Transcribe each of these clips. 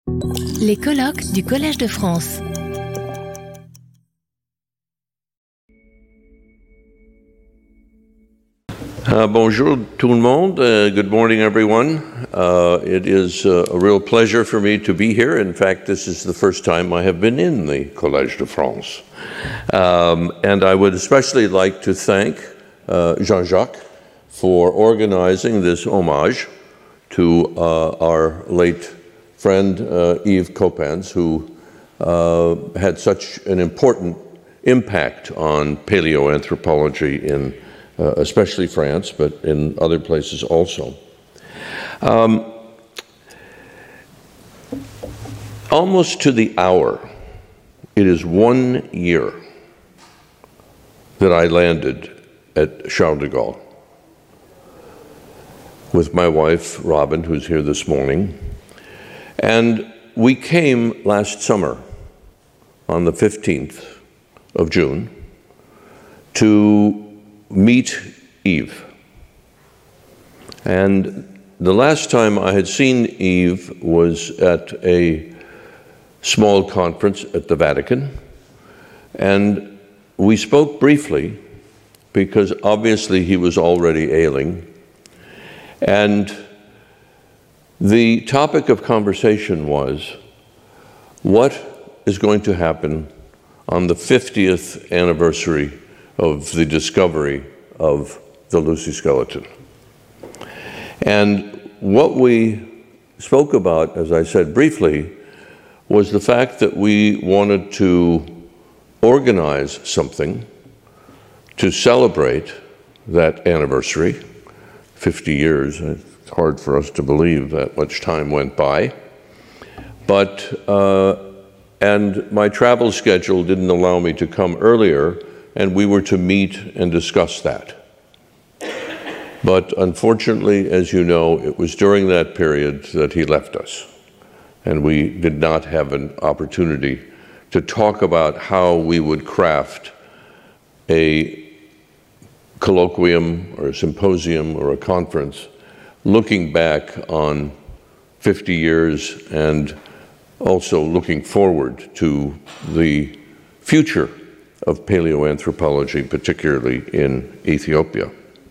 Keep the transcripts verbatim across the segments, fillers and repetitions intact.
Les colloques du Collège de France. Uh, bonjour tout le monde. Uh, good morning, everyone. Uh, it is uh, a real pleasure for me to be here. In fact, this is the first time I have been in the Collège de France. Um, and I would especially like to thank uh, Jean-Jacques for organizing this homage to uh, our late friend uh, Yves Coppens, who uh, had such an important impact on paleoanthropology in Uh, especially France, but in other places also. Um, almost to the hour, it is one year that I landed at Charles de Gaulle with my wife, Robin, who's here this morning. And we came last summer on the fifteenth of June to meet Yves. And the last time I had seen Yves was at a small conference at the Vatican. And we spoke briefly because obviously he was already ailing. And the topic of conversation was, what is going to happen on the fiftieth anniversary of the discovery of the Lucy skeleton? And what we spoke about, as I said briefly, was the fact that we wanted to organize something to celebrate that anniversary, fifty years. It's hard for us to believe that much time went by. But, uh, and my travel schedule didn't allow me to come earlier, and we were to meet and discuss that. But unfortunately, as you know, it was during that period that he left us, and we did not have an opportunity to talk about how we would craft a colloquium or a symposium or a conference looking back on fifty years and also looking forward to the future of paleoanthropology, particularly in Ethiopia.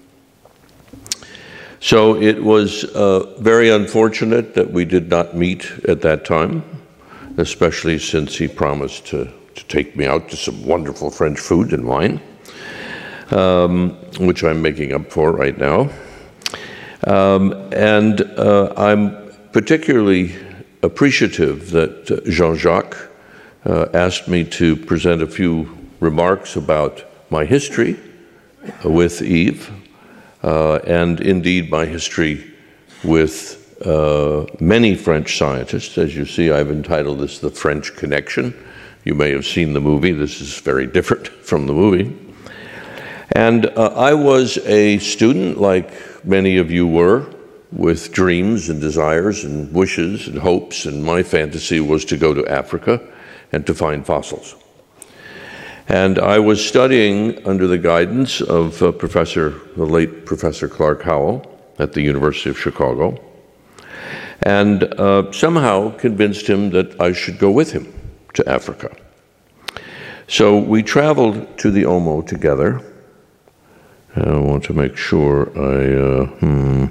So it was uh, very unfortunate that we did not meet at that time, especially since he promised to, to take me out to some wonderful French food and wine, um, which I'm making up for right now. Um, and uh, I'm particularly appreciative that uh, Jean-Jacques uh, asked me to present a few remarks about my history with Yves, uh, and indeed my history with uh, many French scientists. As you see, I've entitled this The French Connection. You may have seen the movie. This is very different from the movie. And uh, I was a student, like many of you were, with dreams and desires and wishes and hopes, and my fantasy was to go to Africa and to find fossils. And I was studying under the guidance of uh, Professor, the late Professor Clark Howell at the University of Chicago, and uh, somehow convinced him that I should go with him to Africa. So we traveled to the Omo together. And I want to make sure I, uh, hmm,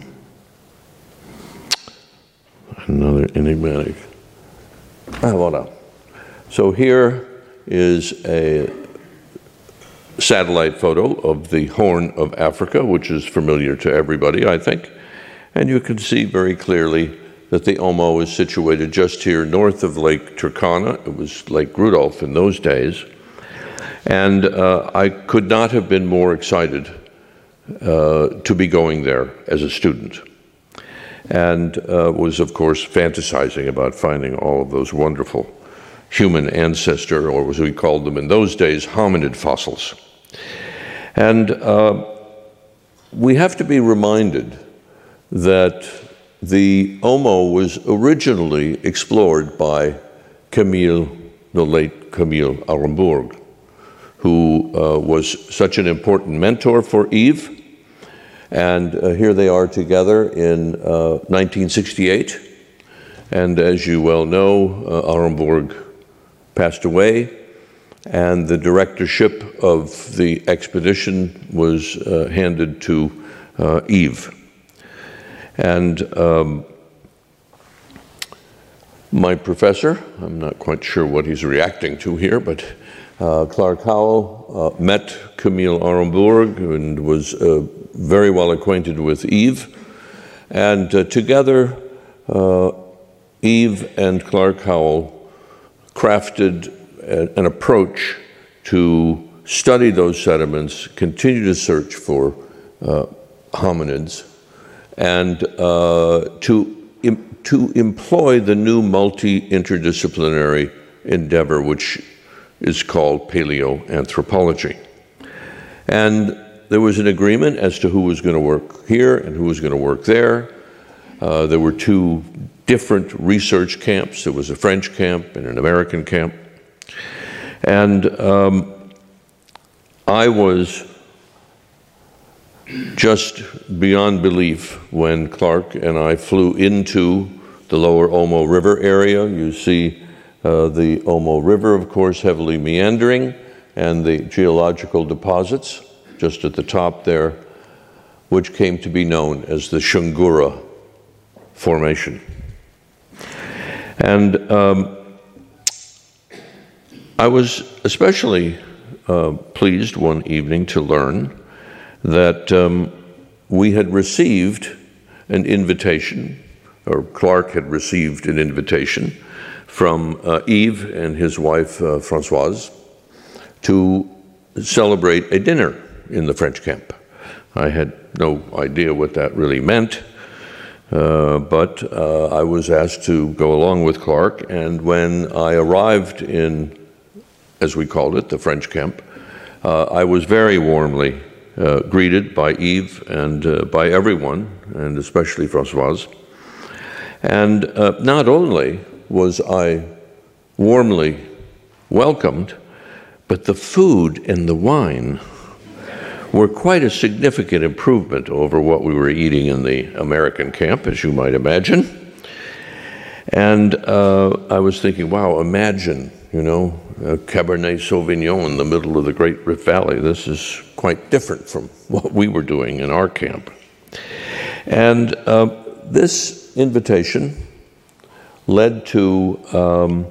another enigmatic. Ah, voilà. So here is a satellite photo of the Horn of Africa, which is familiar to everybody, I think. And you can see very clearly that the Omo is situated just here north of Lake Turkana. It was Lake Rudolph in those days. And uh, I could not have been more excited uh, to be going there as a student. And uh, was, of course, fantasizing about finding all of those wonderful human ancestor, or as we called them in those days, hominid fossils. And uh, we have to be reminded that the Omo was originally explored by Camille, the late Camille Arenbourg, who uh, was such an important mentor for Yves. And uh, here they are together in uh, nineteen sixty-eight And as you well know, uh, Arenbourg passed away, and the directorship of the expedition was uh, handed to uh, Yves. And um, my professor, I'm not quite sure what he's reacting to here, but uh, Clark Howell uh, met Camille Arenbourg and was uh, very well acquainted with Yves. And uh, together, uh, Yves and Clark Howell crafted a, an approach to study those sediments, continue to search for uh, hominids, and uh, to, im to employ the new multi-interdisciplinary endeavor, which is called paleoanthropology. And there was an agreement as to who was going to work here and who was going to work there. Uh, there were two different research camps. There was a French camp and an American camp. And um, I was just beyond belief when Clark and I flew into the lower Omo River area. You see uh, the Omo River, of course, heavily meandering, and the geological deposits just at the top there, which came to be known as the Shungura Formation. And um, I was especially uh, pleased one evening to learn that um, we had received an invitation, or Clark had received an invitation from uh, Yves and his wife, uh, Françoise, to celebrate a dinner in the French camp. I had no idea what that really meant, uh, but uh, I was asked to go along with Clark, and when I arrived in, as we called it, the French camp, uh, I was very warmly uh, greeted by Yves and uh, by everyone, and especially Françoise. And uh, not only was I warmly welcomed, but the food and the wine were quite a significant improvement over what we were eating in the American camp, as you might imagine. And uh, I was thinking, wow, imagine, you know, a Cabernet Sauvignon in the middle of the Great Rift Valley. This is quite different from what we were doing in our camp. And uh, this invitation led to um,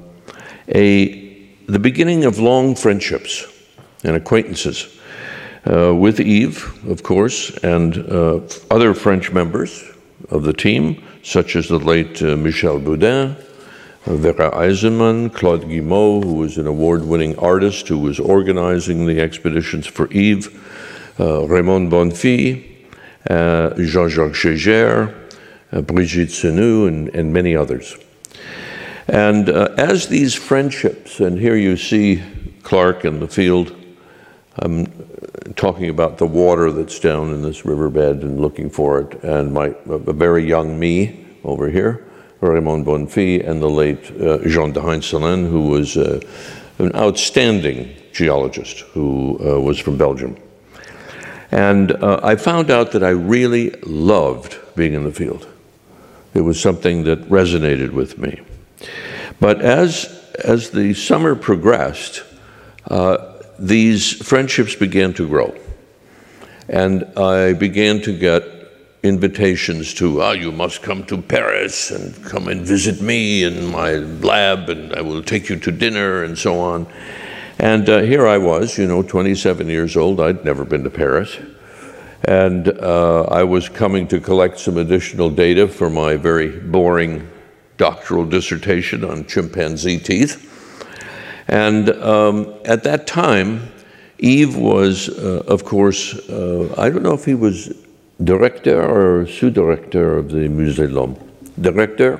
a, the beginning of long friendships and acquaintances uh, with Yves, of course, and uh, other French members of the team, such as the late uh, Michel Boudin, uh, Vera Eisenman, Claude Guimau, who was an award-winning artist who was organizing the expeditions for Yves, uh, Raymond Bonfils, uh, Jean-Jacques Gégère, uh, Brigitte Senou, and, and many others. And uh, as these friendships, and here you see Clark in the field, I'm talking about the water that's down in this riverbed and looking for it, and my, a very young me over here, Raymond Bonfils, and the late uh, Jean de Heinzelin, who was uh, an outstanding geologist who uh, was from Belgium. And uh, I found out that I really loved being in the field. It was something that resonated with me. But as, as the summer progressed, uh, these friendships began to grow. And I began to get invitations to, ah, you must come to Paris and come and visit me in my lab, and I will take you to dinner, and so on. And uh, here I was, you know, twenty-seven years old. I'd never been to Paris. And uh, I was coming to collect some additional data for my very boring doctoral dissertation on chimpanzee teeth. And um, at that time, Yves was, uh, of course, uh, I don't know if he was director or sous-director of the Musée de l'Homme. Director.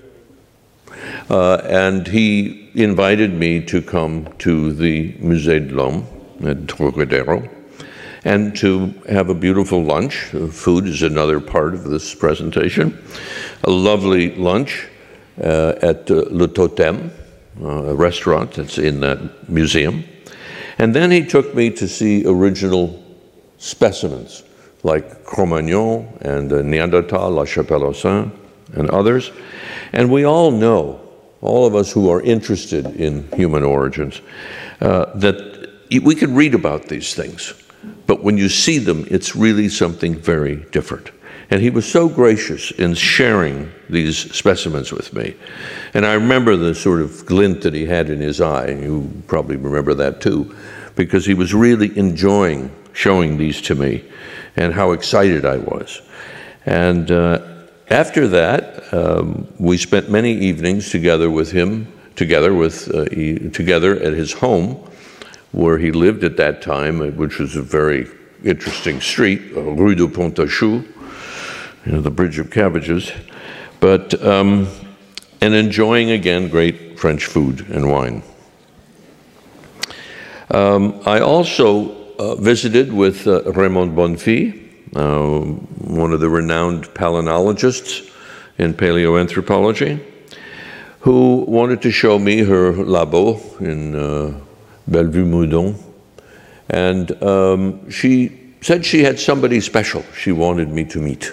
Uh, and he invited me to come to the Musée de l'Homme at Trocadero and to have a beautiful lunch. Uh, food is another part of this presentation. A lovely lunch uh, at uh, Le Totem, uh, a restaurant that's in that museum. And then he took me to see original specimens like Cro-Magnon and uh, Neanderthal, La Chapelle aux Saints, and others. And we all know, all of us who are interested in human origins, uh, that we can read about these things, but when you see them, it's really something very different. And he was so gracious in sharing these specimens with me. And I remember the sort of glint that he had in his eye, and you probably remember that too, because he was really enjoying showing these to me and how excited I was. And uh, after that, um, we spent many evenings together with him, together with uh, he, together at his home, where he lived at that time, which was a very interesting street, Rue de Pontachou, you know, the Bridge of Cabbages, but um, and enjoying again great French food and wine. Um, I also uh, visited with uh, Raymond Bonfils, uh, one of the renowned palynologists in paleoanthropology, who wanted to show me her labo in uh, Bellevue-Moudon, and um, she said she had somebody special she wanted me to meet.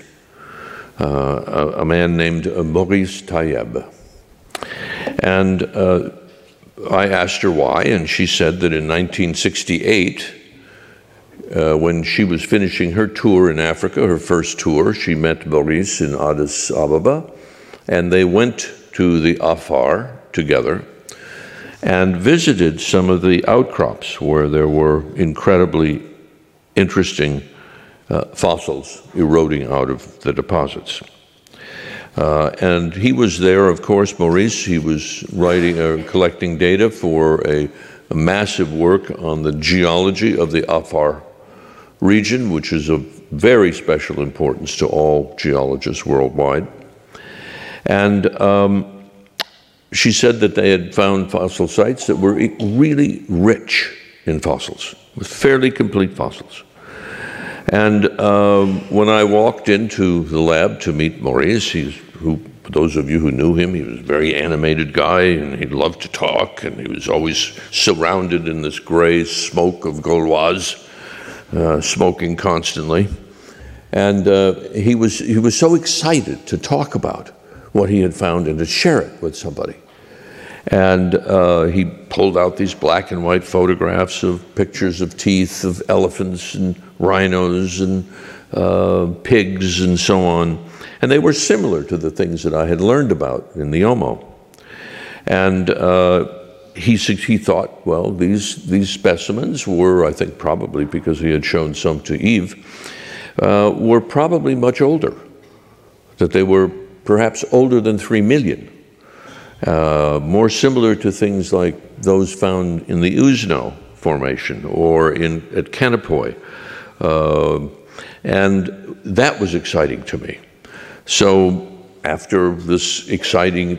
Uh, a, a man named uh, Maurice Tayeb. And uh, I asked her why, and she said that in nineteen sixty-eight, uh, when she was finishing her tour in Africa, her first tour, she met Maurice in Addis Ababa, and they went to the Afar together and visited some of the outcrops where there were incredibly interesting Uh, fossils eroding out of the deposits. Uh, and he was there, of course, Maurice, he was writing or uh, collecting data for a, a massive work on the geology of the Afar region, which is of very special importance to all geologists worldwide. And um, she said that they had found fossil sites that were really rich in fossils, with fairly complete fossils. And um, when I walked into the lab to meet Maurice, he's, who, for those of you who knew him, he was a very animated guy, and he loved to talk, and he was always surrounded in this gray smoke of Gauloise, uh, smoking constantly. And uh, he was, he was so excited to talk about what he had found and to share it with somebody. And uh, he pulled out these black and white photographs of pictures of teeth of elephants and rhinos and uh, pigs and so on. And they were similar to the things that I had learned about in the Omo. And uh, he, he thought, well, these, these specimens were, I think probably because he had shown some to Yves, uh, were probably much older, that they were perhaps older than three million. Uh, more similar to things like those found in the Usno Formation or in, at Kanapoy. Uh, and that was exciting to me. So after this exciting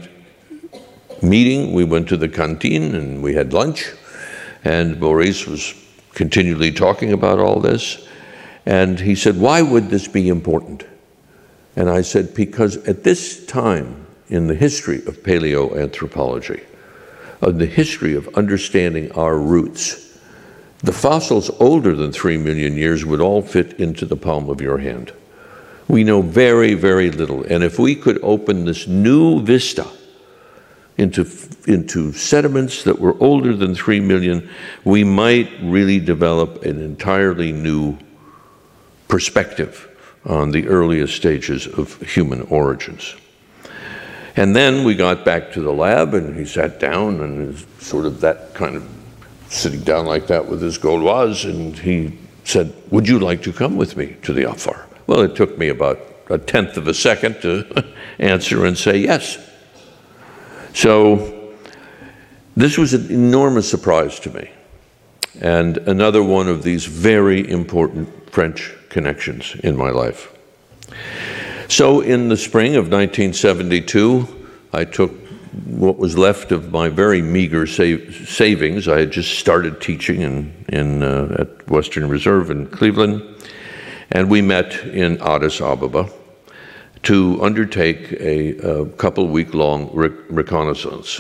meeting, we went to the canteen and we had lunch, and Maurice was continually talking about all this. And he said, why would this be important? And I said, because at this time, in the history of paleoanthropology, of the history of understanding our roots, the fossils older than three million years would all fit into the palm of your hand. We know very, very little. And if we could open this new vista into, into sediments that were older than three million, we might really develop an entirely new perspective on the earliest stages of human origins. And then we got back to the lab, and he sat down, and sort of that kind of sitting down like that with his Gauloise, and he said, would you like to come with me to the Afar? Well, it took me about a tenth of a second to answer and say yes. So this was an enormous surprise to me, and another one of these very important French connections in my life. So in the spring of nineteen seventy-two, I took what was left of my very meager save, savings. I had just started teaching in, in, uh, at Western Reserve in Cleveland, and we met in Addis Ababa to undertake a, a couple week-long re reconnaissance.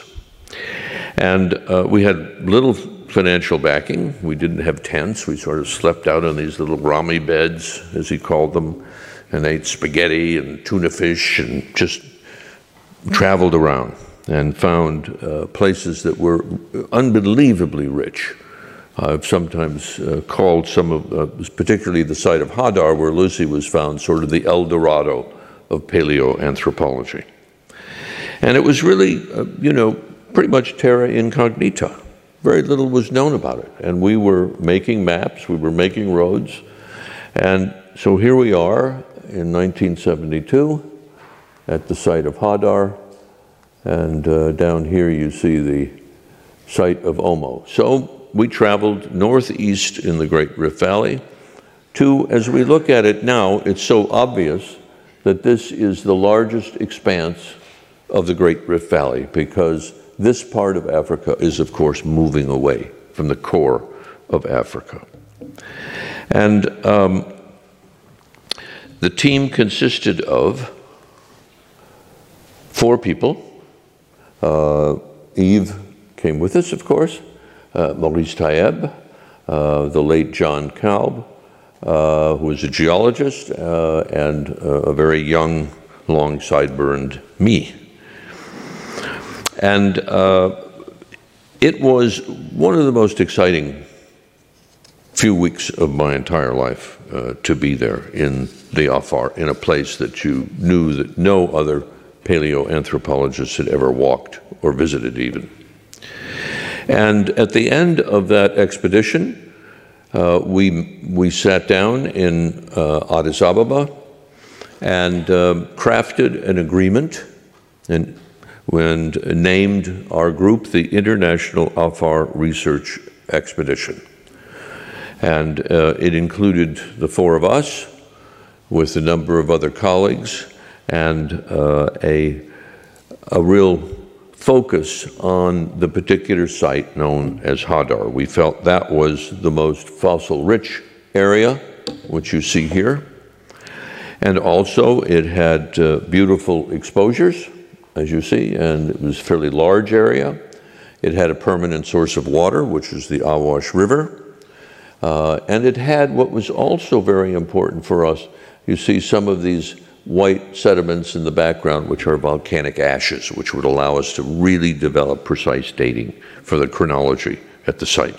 And uh, we had little financial backing. We didn't have tents. We sort of slept out on these little rami beds, as he called them, and ate spaghetti and tuna fish and just traveled around and found uh, places that were unbelievably rich. I've sometimes uh, called some of, uh, particularly the site of Hadar, where Lucy was found, sort of the El Dorado of paleoanthropology. And it was really, uh, you know, pretty much terra incognita. Very little was known about it. And we were making maps, we were making roads. And so here we are in nineteen seventy-two at the site of Hadar. And uh, down here you see the site of Omo. So we traveled northeast in the Great Rift Valley to, as we look at it now, it's so obvious that this is the largest expanse of the Great Rift Valley, because this part of Africa is, of course, moving away from the core of Africa. And um, the team consisted of four people. Uh, Yves came with us, of course, uh, Maurice Taeb, uh, the late John Kalb, uh, who was a geologist, uh, and uh, a very young, long sideburned me. And uh, it was one of the most exciting few weeks of my entire life uh, to be there in the Afar, in a place that you knew that no other paleoanthropologists had ever walked or visited even. And at the end of that expedition, uh, we, we sat down in uh, Addis Ababa and uh, crafted an agreement and, and named our group the International Afar Research Expedition. And uh, it included the four of us with a number of other colleagues, and uh, a, a real focus on the particular site known as Hadar. We felt that was the most fossil-rich area, which you see here. And also it had uh, beautiful exposures, as you see, and it was a fairly large area. It had a permanent source of water, which is the Awash River. Uh, and it had what was also very important for us. You see some of these white sediments in the background, which are volcanic ashes, which would allow us to really develop precise dating for the chronology at the site.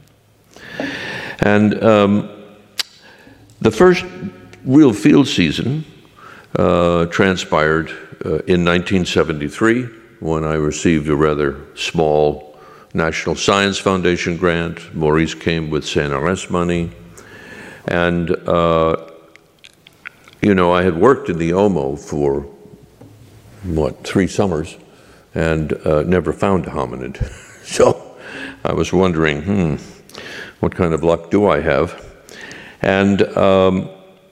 And um, the first real field season uh, transpired uh, in nineteen seventy-three, when I received a rather small National Science Foundation grant. Maurice came with C N R S money. And uh, you know, I had worked in the Omo for, what, three summers, and uh, never found a hominid. So I was wondering, hmm, what kind of luck do I have? And um,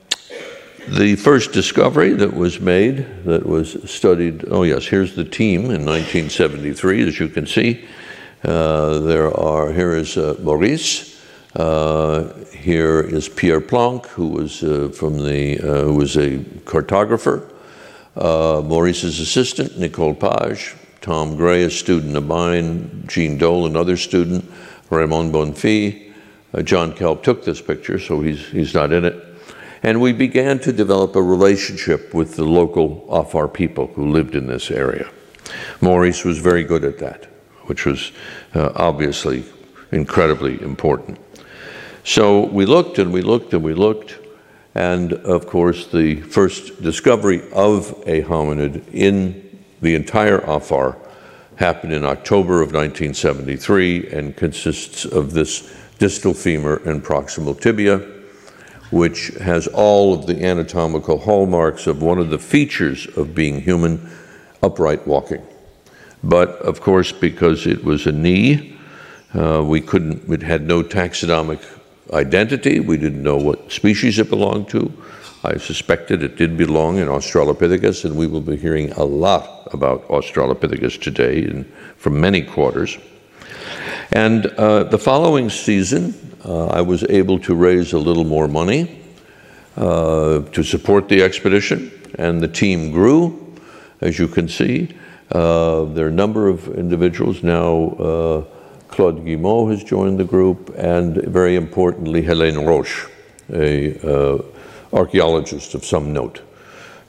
the first discovery that was made, that was studied, oh yes, here's the team in nineteen seventy-three, as you can see. Uh, there are, here is uh, Maurice. Uh, here is Pierre Planck, who was uh, from the, uh, who was a cartographer. Uh, Maurice's assistant, Nicole Page. Tom Gray, a student of mine. Jean Dole, another student. Raymond Bonfils. Uh, John Kalb took this picture, so he's, he's not in it. And we began to develop a relationship with the local Afar people who lived in this area. Maurice was very good at that, which was uh, obviously incredibly important. So we looked and we looked and we looked, and of course the first discovery of a hominid in the entire Afar happened in October of nineteen seventy-three and consists of this distal femur and proximal tibia, which has all of the anatomical hallmarks of one of the features of being human, upright walking. But of course, because it was a knee, uh, we couldn't, it had no taxonomic identity. We didn't know what species it belonged to. I suspected it did belong in Australopithecus, and we will be hearing a lot about Australopithecus today in, from many quarters. And uh, the following season, uh, I was able to raise a little more money uh, to support the expedition, and the team grew, as you can see. Uh, there are a number of individuals now. Uh, Claude Guimau has joined the group, and very importantly, Hélène Roche, a uh, archaeologist of some note.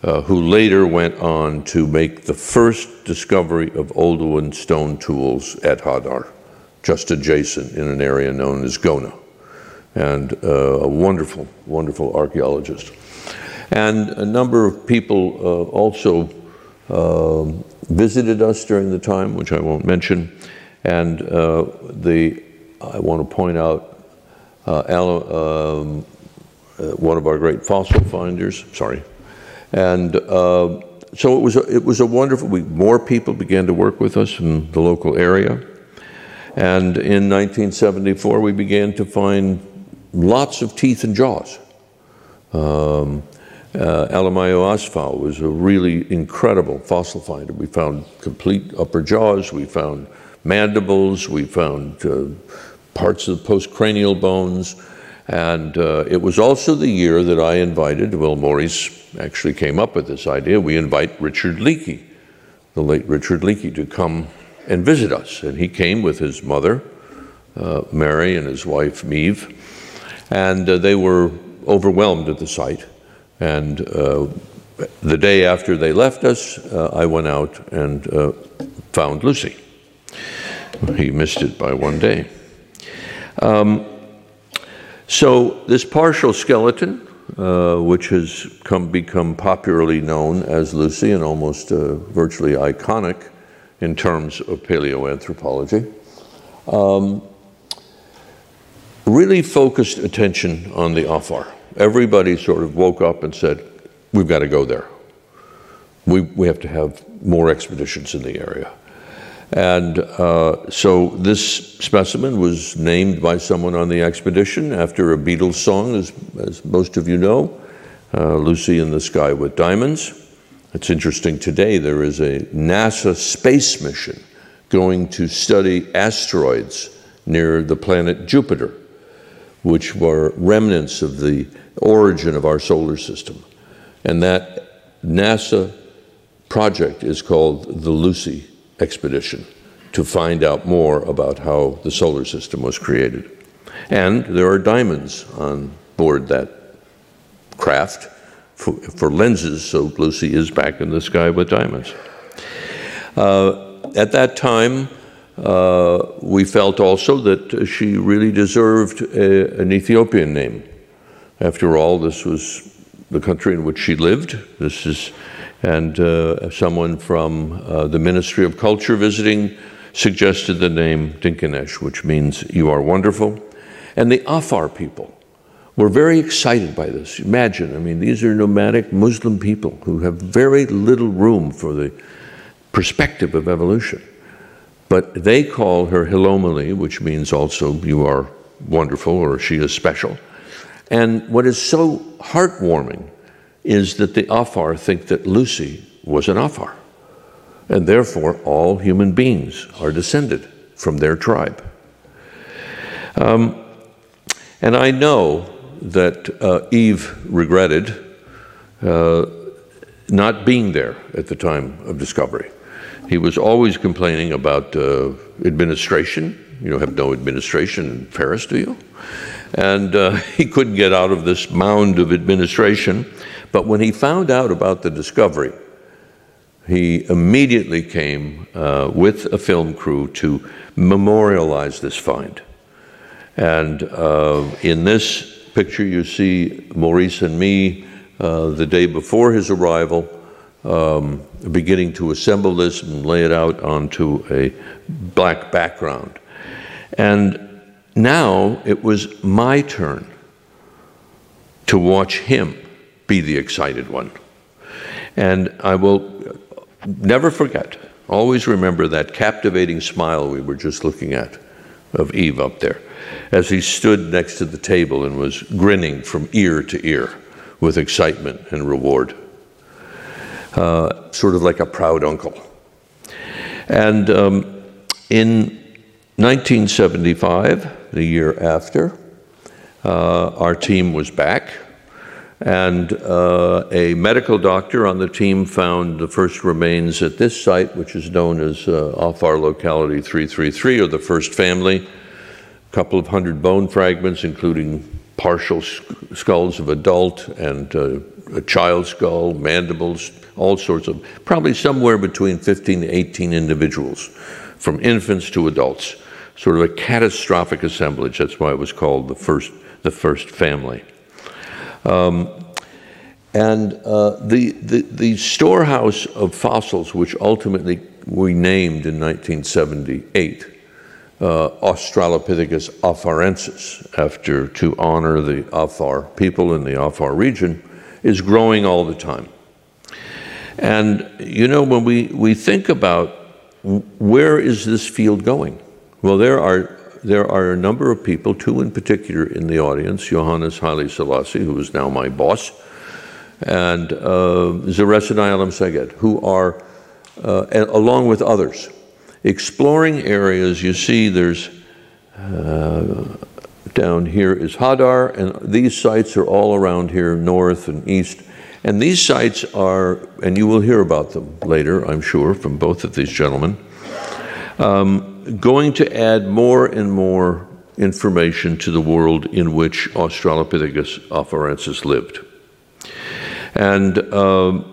uh, who later went on to make the first discovery of Oldowan stone tools at Hadar, just adjacent in an area known as Gona, and uh, a wonderful, wonderful archaeologist. And a number of people uh, also uh, visited us during the time, which I won't mention. And uh, the, I want to point out uh, Al, um, uh, one of our great fossil finders, sorry. And uh, so it was, a, it was a wonderful, we, more people began to work with us in the local area. And in nineteen seventy-four, we began to find lots of teeth and jaws. Um, uh, Alamayo Asfau was a really incredible fossil finder. We found complete upper jaws, we found mandibles, we found uh, parts of the postcranial bones, and uh, it was also the year that I invited, well, Maurice actually came up with this idea, we invite Richard Leakey, the late Richard Leakey, to come and visit us. And he came with his mother, uh, Mary, and his wife, Meve, and uh, they were overwhelmed at the site. And uh, the day after they left us, uh, I went out and uh, found Lucy. He missed it by one day. Um, so this partial skeleton, uh, which has come, become popularly known as Lucy and almost uh, virtually iconic in terms of paleoanthropology, um, really focused attention on the Afar. Everybody sort of woke up and said, we've got to go there. We, we have to have more expeditions in the area. And uh, so this specimen was named by someone on the expedition after a Beatles song, as, as most of you know, uh, Lucy in the Sky with Diamonds. It's interesting, today there is a NASA space mission going to study asteroids near the planet Jupiter, which were remnants of the origin of our solar system. And that NASA project is called the Lucy Expedition, to find out more about how the solar system was created. And there are diamonds on board that craft for, for lenses, so Lucy is back in the sky with diamonds. Uh, at that time, uh, we felt also that she really deserved a, an Ethiopian name. After all, this was the country in which she lived. This is, and uh, someone from uh, the Ministry of Culture visiting suggested the name Dinkinesh, which means you are wonderful. And the Afar people were very excited by this. Imagine, I mean, these are nomadic Muslim people who have very little room for the perspective of evolution. But they call her Hilomali, which means also you are wonderful, or she is special. And what is so heartwarming is that the Afar think that Lucy was an Afar, and therefore all human beings are descended from their tribe. Um, and I know that uh, Yves regretted uh, not being there at the time of discovery. He was always complaining about uh, administration. You don't have no administration in Paris, do you? And uh, he couldn't get out of this mound of administration. But when he found out about the discovery, he immediately came uh, with a film crew to memorialize this find. And uh, in this picture, you see Maurice and me uh, the day before his arrival, um, beginning to assemble this and lay it out onto a black background. And now it was my turn to watch him be the excited one. And I will never forget, always remember that captivating smile we were just looking at of Yves up there, as he stood next to the table and was grinning from ear to ear with excitement and reward, uh, sort of like a proud uncle. And um, in nineteen seventy-five, the year after, uh, our team was back, and uh, a medical doctor on the team found the first remains at this site, which is known as uh, Afar Locality three three three, or the first family. A couple of hundred bone fragments, including partial skulls of adult and uh, a child skull, mandibles, all sorts of, probably somewhere between fifteen to eighteen individuals, from infants to adults, sort of a catastrophic assemblage. That's why it was called the first, the first family. Um, and uh, the, the, the storehouse of fossils, which ultimately we named in nineteen seventy-eight, uh, Australopithecus afarensis, after to honor the Afar people in the Afar region, is growing all the time. And, you know, when we, we think about where is this field going? Well, there are, there are a number of people, two in particular in the audience, Johannes Haile Selassie, who is now my boss, and uh, Zeressen Ayalem Seged, who are, uh, along with others, exploring areas. You see there's, uh, down here is Hadar, and these sites are all around here, north and east. And these sites are, and you will hear about them later, I'm sure, from both of these gentlemen, um, going to add more and more information to the world in which Australopithecus afarensis lived. And uh,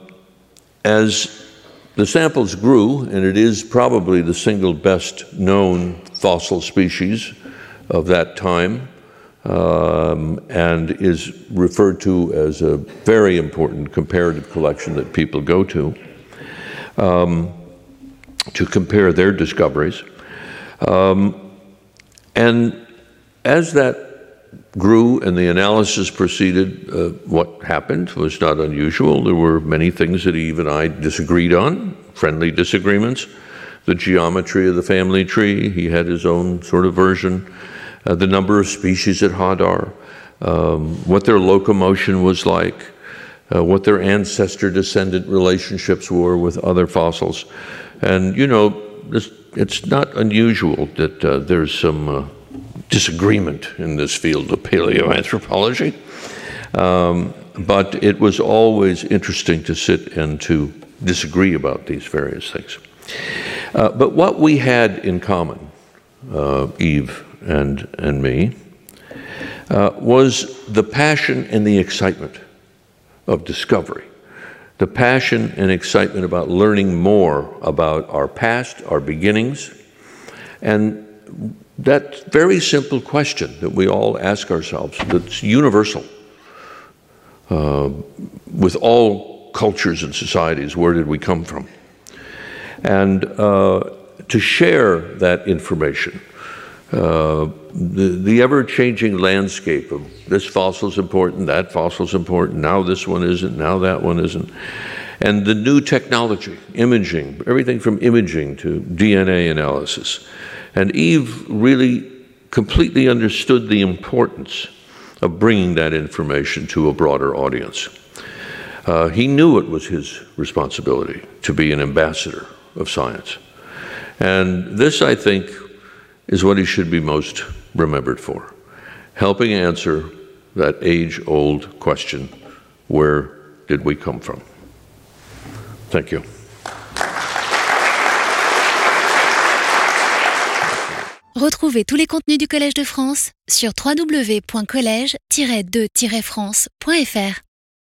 as the samples grew, and it is probably the single best known fossil species of that time, um, and is referred to as a very important comparative collection that people go to um, to compare their discoveries. Um, and as that grew and the analysis proceeded, uh, what happened was not unusual. There were many things that Eve and I disagreed on, friendly disagreements. The geometry of the family tree, he had his own sort of version. Uh, the number of species at Hadar, um, what their locomotion was like, uh, what their ancestor-descendant relationships were with other fossils. And, you know, this, it's not unusual that uh, there's some uh, disagreement in this field of paleoanthropology. Um, but it was always interesting to sit and to disagree about these various things. Uh, but what we had in common, uh, Eve and, and me, uh, was the passion and the excitement of discovery. The passion and excitement about learning more about our past, our beginnings, and that very simple question that we all ask ourselves, that's universal uh, with all cultures and societies, where did we come from? And uh, to share that information, uh, the, the ever-changing landscape of this fossil's important, that fossil's important, now this one isn't, now that one isn't, and the new technology, imaging, everything from imaging to D N A analysis. And Eve really completely understood the importance of bringing that information to a broader audience. Uh, he knew it was his responsibility to be an ambassador of science. And this, I think, is what he should be most remembered for, helping answer that age-old question, where did we come from? Thank you. Retrouvez tous les contenus du Collège de France sur w w w point collège tiret de tiret france point f r.